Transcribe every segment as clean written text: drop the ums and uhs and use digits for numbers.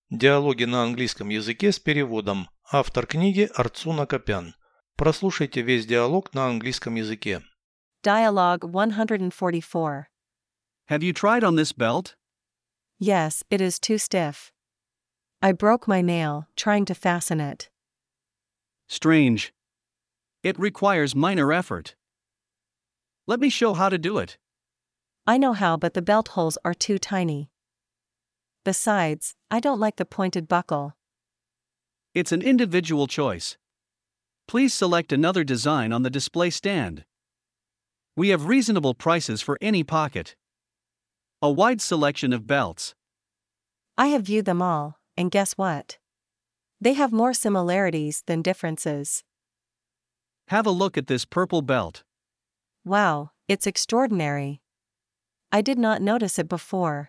Диалоги на английском языке с переводом. Автор книги Арцуна Копян. Прослушайте весь диалог на английском языке. Dialogue 144. Have you tried on this belt? Yes, it is too stiff. I broke my nail trying to fasten it. Strange. It requires minor effort. Let me show how to do it. I know how, but the belt holes are too tiny. Besides, I don't like the pointed buckle. It's an individual choice. Please select another design on the display stand. We have reasonable prices for any pocket. A wide selection of belts. I have viewed them all, and guess what? They have more similarities than differences. Have a look at this purple belt. Wow, it's extraordinary. I did not notice it before.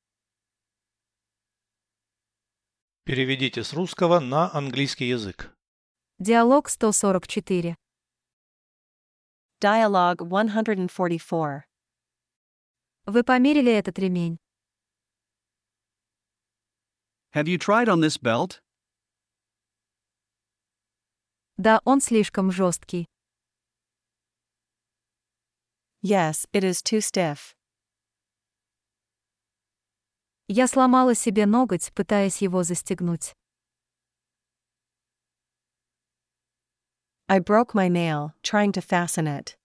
Переведите с русского на английский язык. Диалог 144. Dialogue 144. Вы померили этот ремень? Have you tried on this belt? Да, он слишком жесткий. Yes, it is too stiff. Я сломала себе ноготь, пытаясь его застегнуть. I broke my nail trying to fasten it.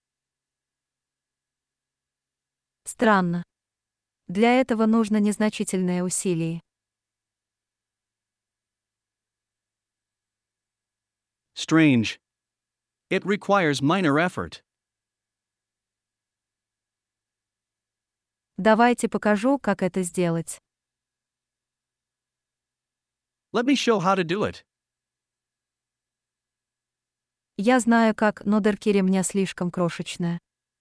Странно. Для этого нужно незначительное усилие. Strange. It requires minor effort. Давайте покажу, как это сделать. Let me show how to do it. Я знаю как, но дырки ремня слишком крошечная.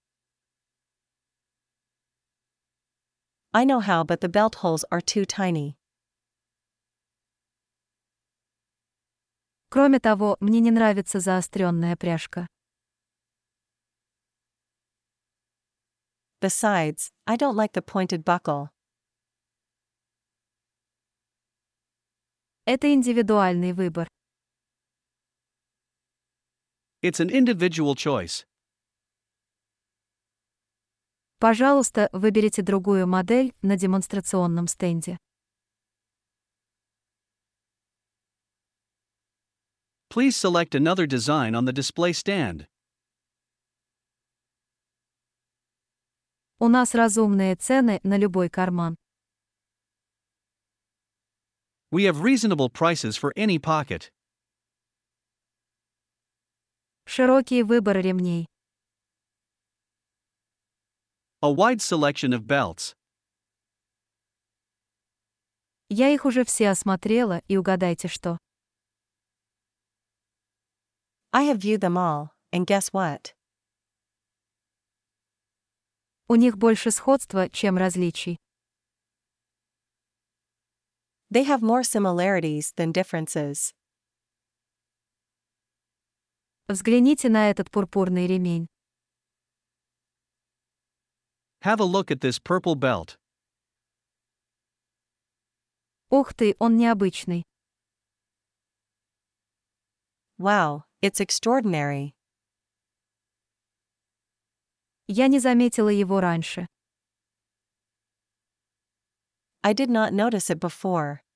I know how, but the belt holes are too tiny. Кроме того, мне не нравится заостренная пряжка. Besides, I don't like the pointed buckle. Это индивидуальный выбор. It's an individual choice. Пожалуйста, выберите другую модель на демонстрационном стенде. Please select another design on the display stand. У нас разумные цены на любой карман. We have reasonable prices for any pocket. Широкий выбор ремней. A wide selection of belts. Я их уже все осмотрела, и угадайте что. I have viewed them all, and guess what? У них больше сходства, чем различий. They have more similarities than differences. Взгляните на этот пурпурный ремень. Have a look at this purple belt. Ух ты, он необычный. Wow, it's extraordinary. Я не заметила его раньше. I did not notice it before.